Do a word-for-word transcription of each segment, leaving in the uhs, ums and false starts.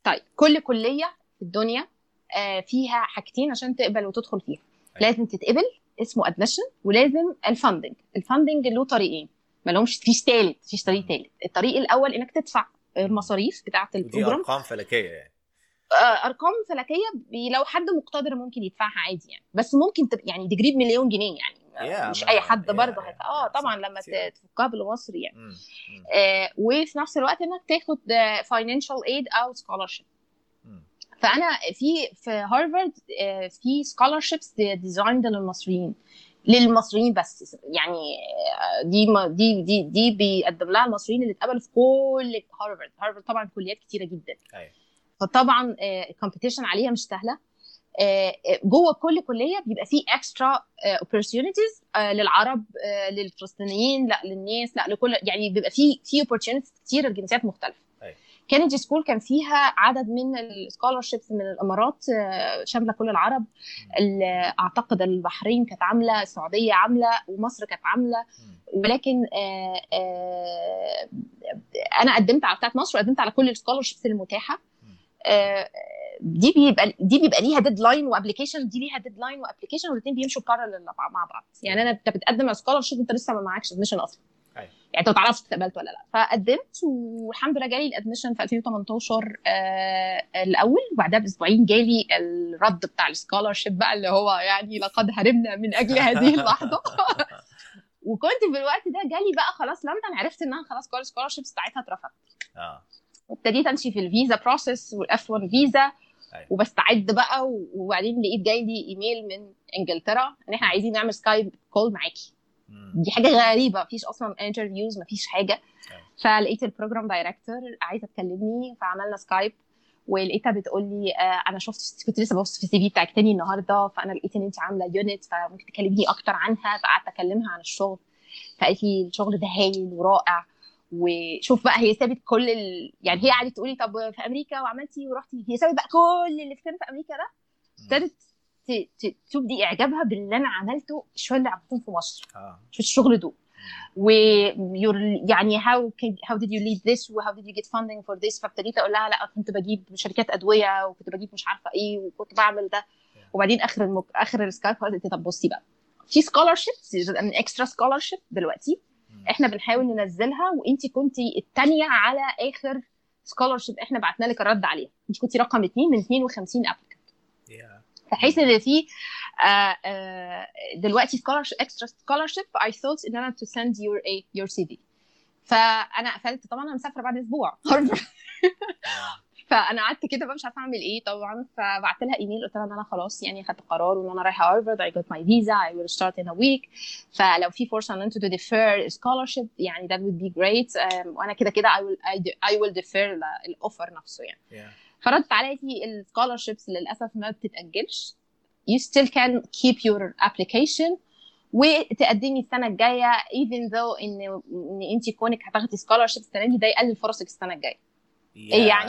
طيب كل كليه في الدنيا آه، فيها حاجتين عشان تقبل وتدخل فيها. أيوة. لازم تتقبل، اسمه ادميشن، ولازم الفاندنج. الفاندنج له طريقين، ما لهمش فيش ثالث، فيش طريق مم. ثالث. الطريق الاول انك تدفع مم. المصاريف بتاعه ودي البروجرام. ارقام فلكيه يعني. آه، ارقام فلكيه، بي- لو حد مقتدر ممكن يدفعها عادي يعني، بس ممكن تبقى يعني ديجري بمليون جنيه يعني، آه، يا مش اي ما حد يا برضه يا هيت... اه يا طبعا صح لما كتير أوي. ت- تفكها بالمصري يعني. مم. مم. آه، وفي نفس الوقت انك تاخد فاينانشال ايد او سكولارشيب. مم. فانا في في هارفارد آه، في سكولارشيبس ديزايند للمصريين، للمصريين بس يعني. آه، دي ما- دي دي دي بيقدم لها المصريين اللي اتقبلوا في كل هارفارد. هارفارد طبعا كليات كتيره جدا، ايوه. فطبعا الكومبيتيشن عليها مش سهله. آه، جوه كل كليه بيبقى فيه اكسترا اوبورتيونيتيز للعرب، آه، للفلسطينيين، لا للناس، لا لكل، يعني بيبقى فيه في اوبورتيونيتيز كتير لجنسيات مختلفه. ايوه. كينيدي سكول كان فيها عدد من السكولارشيبس من الامارات، آه، شامله كل العرب. مم. ال- اعتقد البحرين كانت عامله، السعوديه عامله، ومصر كانت عامله. مم. ولكن آه، آه، انا قدمت على بتاعت مصر، وقدمت على كل السكولارشيبس المتاحه. مم. آه، دي بيبقى دي بيبقى ليها ديدلاين وابلكيشن، دي ليها ديدلاين وابلكيشن، والاثنين بيمشوا بارلل مع بعض يعني. انا انت بتقدم على سكولارشيب انت لسه ما معكش ادميشن اصلا، ايوه. يعني انت ما تعرفش اتقبلت ولا لا. فقدمت والحمد لله جالي الادميشن في ألفين وتمنتاشر آه الاول، وبعدها باسبوعين جالي الرد بتاع السكولارشيب بقى، اللي هو يعني لقد هربنا من اجل هذه اللحظه. وكنت في الوقت ده جالي بقى خلاص لندن، عرفت انها خلاص كل السكولارشيبس بتاعتها اترفضت. اه. وابتديت امشي في الفيزا بروسيس والاف واحد فيزا، ايوه. وبستعد بقى. وبعدين لقيت جاي لي ايميل من انجلترا ان احنا عايزين نعمل سكايب كول معاكي. مم. دي حاجه غريبه، مفيش اصلا انترفيوز، مفيش حاجه. ايوه. فلقيت البروجرام دايركتور عايزه تكلمني، فعملنا سكايب. ولقيتها بتقول لي آه انا شفت، كنت لسه ببص في السي في بتاعك تاني النهارده، فانا لقيت ان انت عامله يونت، فممكن تكلميني اكتر عنها. فقعدت اكلمها عن الشغل، فقالت لي الشغل ده هايل ورائع. وشوف بقى هي سابت كل ال... يعني هي قعدت تقولي طب في امريكا وعملتي ورحتي، هي سابت بقى كل اللي كان في امريكا ده، مم. ابتدت ت- ت- تبدي اعجابها باللي انا عملته، شويه اللي عملتهم في مصر اه. في الشغل دول. مم. و يعني how can, how did you lead this و how did you get funding for this. فابتديت اقول لها لا كنت بجيب شركات ادويه، وكنت بجيب مش عارفه ايه، وكنت بعمل ده. Yeah. وبعدين اخر المك... اخر السكايب قالت لي طب بصي بقى، في سكولارشيبس من اكسترا سكولارشيب دلوقتي مم. احنا بنحاول ننزلها، وانت كنتي الثانيه على اخر سكولارشيب احنا بعتنا لك الرد عليها، انت كنتي رقم اثنين من اثنين وخمسين ابليكانت. Yeah. بحيث ان في آه، آه، دلوقتي سكولارشيب، اكسترا سكولارشيب. I thought ان انا to send your a your سي في. فانا قفلت طبعا، انا مسافره بعد اسبوع. Yeah. فانا قعدت كده بقى مش عارفه اعمل ايه طبعا. فبعت لها ايميل قلت لها ان انا خلاص يعني خدت قرار، وان انا رايحه هارفارد. I got my visa, I will start in a week. فلو في فرصه ان انتوا to defer scholarship يعني that would be great. um, وانا كده كده I will I, do- I will defer الاوفر نفسه يعني. Yeah. فردت عليا السكولارشيبس للاسف ما بتتاجلش. you still can keep your application وتقدمي السنه الجايه even though ان ان انت كونك هتاخدي سكولارشيب السنه دي، ده يقلل فرصك السنه الجايه. ايه يعني؟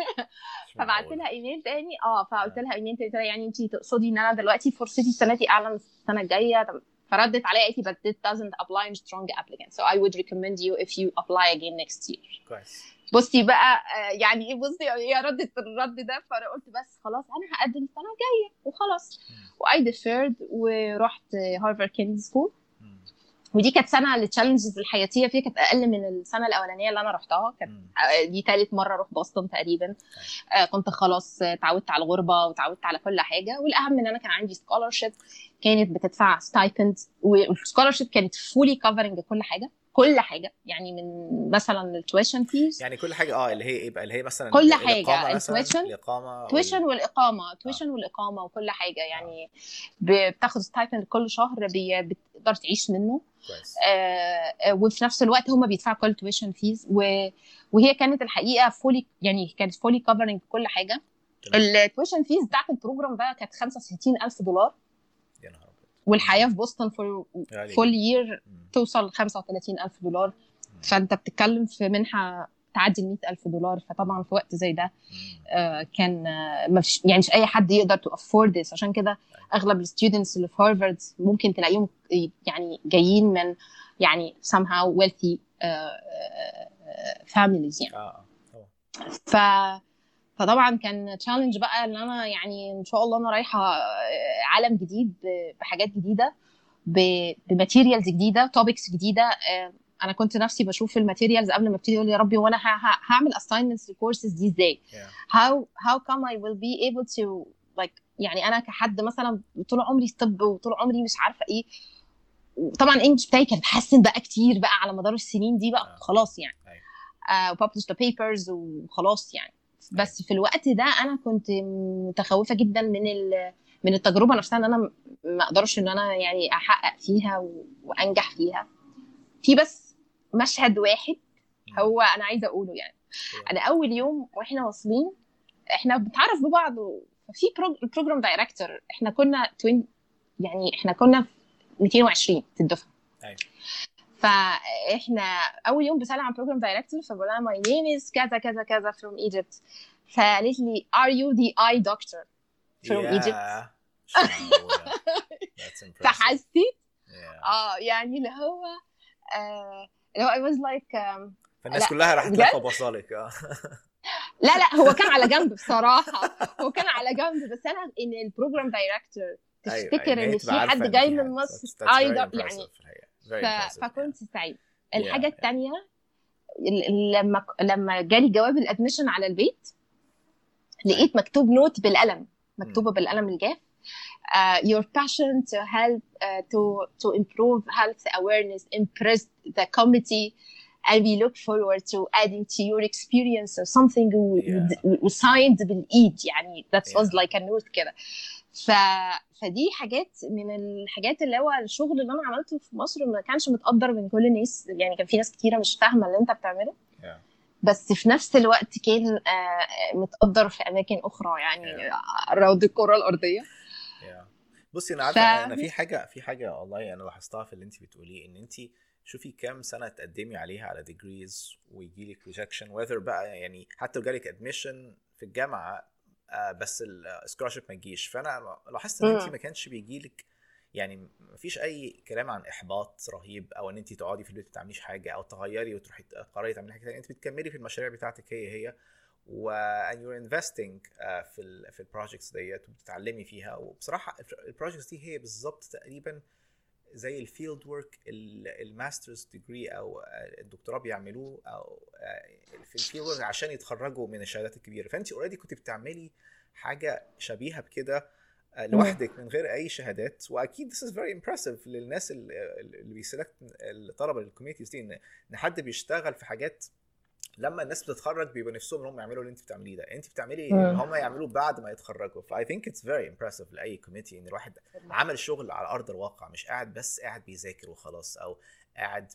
فبعت لها ايميل تاني. اه فقلت لها ايميل تاني، يعني انت تقصدي ان انا دلوقتي فرصتي السنه دي اعلى من السنه الجايه؟ فردت عليا قالت لي but it doesn't apply in strong applicant so I would recommend you if you apply again next year. كويس. بصي بقى يعني ايه، بصي هي ردت الرد ده. فانا قلت بس خلاص انا هقدم السنه الجايه وخلاص. واي ديفيرد ورحت هارفارد كينيدي سكول. ودي كانت سنه التشالنجز الحياتيه فيها كانت اقل من السنه الاولانيه اللي انا رحتها. كانت دي ثالث مره اروح بوسطن تقريبا. آه كنت خلاص اتعودت على الغربه وتعودت على كل حاجه. والاهم ان انا كان عندي سكولارشيب كانت بتدفع ستايبند، والسكولارشيب كانت فولي كفرنج كل حاجه كل حاجه يعني، من مثلا التويشن فيز يعني كل حاجه اه اللي هي ايه بقى، اللي هي مثلا كل الاقامه حاجه، مثلا التويشن الاقامه تويشن وال... والاقامه تويشن آه. والاقامه وكل حاجه يعني. آه. بتاخد ستايبند كل شهر بي... بتقدر تعيش منه. كويس. آه وفي نفس الوقت هم بيدفعوا كل تويشن فيز و... وهي كانت الحقيقه فولي يعني كانت فولي كفرنج كل حاجه. التويشن فيز بتاعت البروجرام ده كانت خمسة وستين ألف دولار. يا نهار ابيض. والحياه في بوسطن فور فول يير توصل خمسة وثلاثين ألف دولار. مم. فانت بتتكلم في منحه تعدي ال مئة ألف دولار. فطبعا في وقت زي ده آه كان آه مش يعني مش اي حد يقدر تو افورد ذس. عشان كده اغلب الستودنتس اللي في هارفارد ممكن تلاقيهم يعني جايين من يعني somehow wealthy uh, uh, families يعني. اه اه ف فطبعا كان تشالنج بقى ان انا يعني ان شاء الله انا رايحه عالم جديد بحاجات جديده بماتيريالز جديده توبكس جديده. انا كنت نفسي بشوف الماتيريالز قبل ما ابتدي اقول يا ربي وانا هعمل assignments للكورسز دي ازاي. yeah. how how come I will be able to like يعني انا كحد مثلا طول عمري طب وطول عمري مش عارفه ايه. طبعا الانجليش بتاعي كان اتحسن بقى كتير بقى على مدار السنين دي بقى. uh. خلاص يعني uh, published the papers وخلاص يعني. بس في الوقت ده انا كنت متخوفه جدا من من التجربه نفسها ان انا ما اقدرش ان انا يعني احقق فيها وانجح فيها. في بس مشهد واحد هو انا عايزه اقوله يعني. انا اول يوم واحنا واصلين احنا بنتعرف ببعض ففي البروجرام دايركتور احنا كنا توين يعني احنا كنا مئتين وعشرين في الدفعه. ايوه. فاحنا اول يوم بسلم على البروجرام دايركتور فبقول لها ماي نيم از كذا كذا كذا فروم ايجيبت. فقالت لي ار يو ذا اي دكتور فروم ايجيبت. فحسيت اه يعني اللي هو آه اللي هو I was like um, فالناس كلها راحت لفه بصالك. اه لا لا هو كان على جنب بصراحه هو كان على جنب بس انا ان البروجرام دايركتور تفتكر أيوة. ان في حد جاي من مصر ايضا يعني ف... فكنت سعيد. الحاجه yeah. الثانيه لما لما جالي جواب الادميشن على البيت لقيت مكتوب نوت بالقلم مكتوبه م. بالقلم الجاف Uh, your passion to help uh, to to improve health awareness impressed the committee and we look forward to adding to your experience or something we signed بالايد يعني that was yeah. like a note كده. ف فدي حاجات من الحاجات اللي هو الشغل اللي انا عملته في مصر ما كانش متقدر من كل الناس يعني. كان في ناس كتيره مش فاهمه اللي انت بتعمله yeah. بس في نفس الوقت كان uh, متقدر في اماكن اخرى يعني yeah. روض الكره الارضيه. بصي انا عارفه ف... انا في حاجه في حاجه والله انا لاحظتها في اللي انت بتقوليه ان انت شوفي كام سنه تقدمي عليها على ديجريز ويجي لك ريجكشن وذر بقى يعني حتى لو جالك ادميشن في الجامعه آه بس السكولارشيب ما يجيش. فانا لاحظت ان انت ما كانش بيجي لك يعني ما فيش اي كلام عن احباط رهيب او ان انت تقعدي في البيت ما تعمليش حاجه او تغيري وتروحي تقرري تعملي حاجه ثانيه. انت بتكملي في المشاريع بتاعتك هي هي و and you're investing uh, في ال في البروجكتس ديت وبتتعلمي فيها. وبصراحه البروجكتس دي هي بالظبط تقريبا زي الفيلد ورك الماسترز ديجري او الدكتوراه بيعملوه او في الفيلد ورك عشان يتخرجوا من الشهادات الكبيره. فانت اوريدي كنت بتعملي حاجه شبيهه بكده لوحدك من غير اي شهادات. واكيد this is very impressive للناس اللي بيسلكت الطلبه للكوميونيتيز دي ان حد بيشتغل في حاجات لما الناس بتتخرج بيبقى نفسهم ان هم يعملوا اللي انت بتعمليه ده. انت بتعملي اللي هم يعملوه بعد ما يتخرجوا. ف I think it's very impressive لاي كوميتي ان الواحد عمل شغل على ارض الواقع مش قاعد بس قاعد بيذاكر وخلاص او قاعد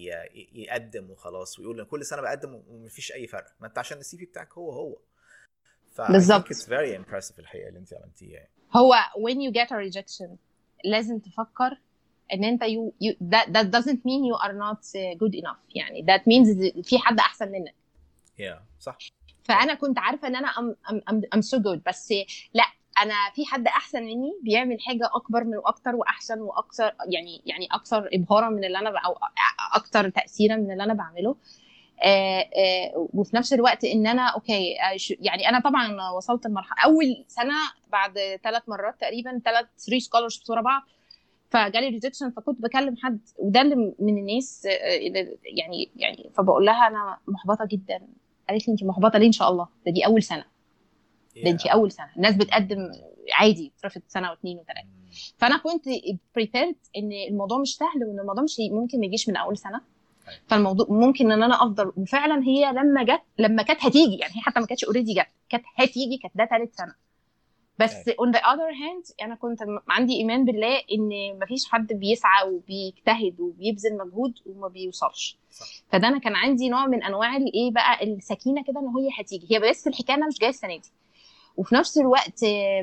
بيقدم وخلاص ويقول ان كل سنه بقدم ومفيش اي فرق. ما انت عشان السي في بتاعك هو هو. ف I think it's very impressive الحقيقه اللي انت عملتيه. هو when you get a rejection لازم تفكر ان انت you, you that, that doesn't mean you are not good enough يعني that means في حد احسن منك. yeah صح. فانا كنت عارفه ان انا I'm, I'm, I'm so good بس لا انا في حد احسن مني بيعمل حاجه اكبر من واكتر واحسن واكثر يعني يعني اكثر ابهارا من اللي انا او اكثر تاثيرا من اللي انا بعمله. آه آه وفي نفس الوقت ان انا اوكي يعني انا طبعا وصلت لمرحله اول سنه بعد ثلاث مرات تقريبا ثلاث ثري سكولرشيبس ورا بعض فجالي ريجكشن. فكنت بكلم حد وده اللي من الناس يعني يعني فبقول لها انا محبطه جدا. قالت لي انت محبطه ليه؟ ان شاء الله ده دي اول سنه ده انت اول سنه. الناس بتقدم عادي اترفض سنه واثنين وثلاثه. فانا كنت بريبيرد ان الموضوع مش سهل وان الموضوع مش ممكن ما يجيش من اول سنه. فالموضوع ممكن ان انا افضل. وفعلا هي لما جت لما كانت هتيجي يعني هي حتى ما كانتش اوريدي جت كانت هتيجي كانت ده ثالث سنه. بس on the other hand انا كنت عندي ايمان بالله ان مفيش حد بيسعى وبيجتهد وبيبذل مجهود وما بيوصلش. فده انا كان عندي نوع من انواع الايه بقى السكينه كده ان هي هتيجي. هي بس الحكايه انا مش جايه السنه دي. وفي نفس الوقت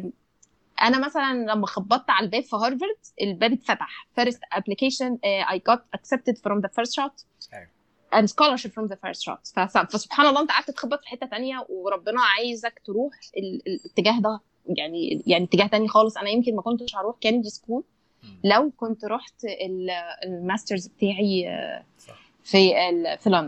انا مثلا لما خبطت على الباب في هارفارد الباب اتفتح first application uh, I got accepted from the first shot and scholarship from the first shot. فسبحان الله انت قعدت تخبط في حته تانية وربنا عايزك تروح الاتجاه ده يعني يعني اتجاه تاني خالص. انا يمكن ما كنتش هروح كينيدي سكول لو كنت رحت الماسترز بتاعي في في لندن.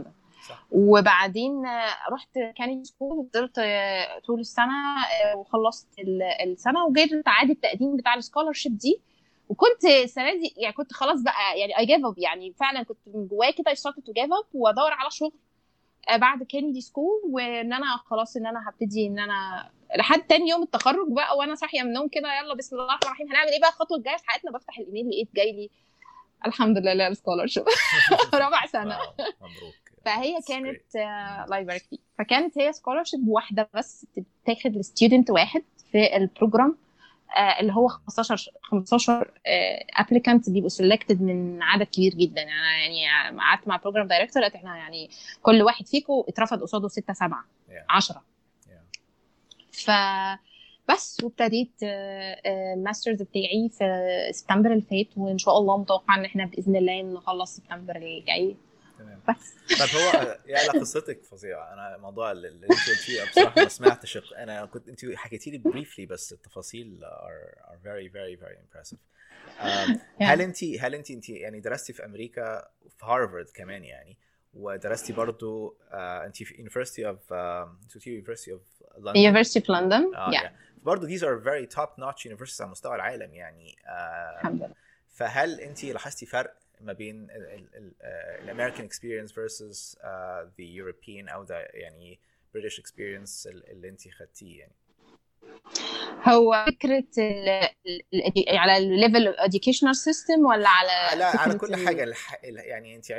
وبعدين رحت كانيدي سكول وفضلت طول السنه وخلصت السنه وجيت عادي التقديم بتاع السكولرشيب دي. وكنت السنه دي يعني كنت خلاص بقى يعني اي جيف اب، يعني فعلا كنت من جوايا كده اي ستارت تو جيف اب وادور على شغل بعد كينيدي سكول، وان انا خلاص ان انا هبتدي ان انا لحد تاني يوم التخرج بقى وانا صاحيه من النوم كده يلا بسم الله الرحمن الرحيم هنعمل ايه بقى الخطوه الجايه في حياتنا. بفتح الايميل لقيت جاي لي الحمد لله السكولرشيب رابع سنه. مبروك. فهي كانت الله يبارك فيك، فكانت هي سكولرشيب واحده بس بتاخد لستودنت واحد في البروجرام اللي هو خمستاشر خمستاشر ابليكانت بيبقوا سيلكتد من عدد كبير جدا. يعني يعني قعدت مع البروجرام دايركتور قالت احنا يعني كل واحد فيكم اترفض قصاده ستة سبعة عشرة. ف بس وابتديت الماسترز بتاعي في سبتمبر اللي فات، وان شاء الله متوقع ان احنا باذن الله نخلص سبتمبر اللي جاي. تمام. بس طب هو يعني قصتك فظيعه. انا موضوع اللي انت قلتيه بصراحه ما سمعتش. انا كنت انت حكيتي لي بريفلي بس التفاصيل are, are very very very impressive. um, هل انت هل انت انت يعني درستي في امريكا في هارفارد كمان يعني، ودرستي برضو uh, انت في University of uh, University of London University of London آه, yeah. yeah. برضو these are very top notch universities على مستوى العالم يعني. uh, الحمد لله. فهل انت لاحظتي فرق ما بين الامريكان experience versus uh, the European او the يعني British experience اللي انت خدتيه يعني؟ هو فكرة ال ال على الليفل educational system ولا على على على كل حاجة يعني انت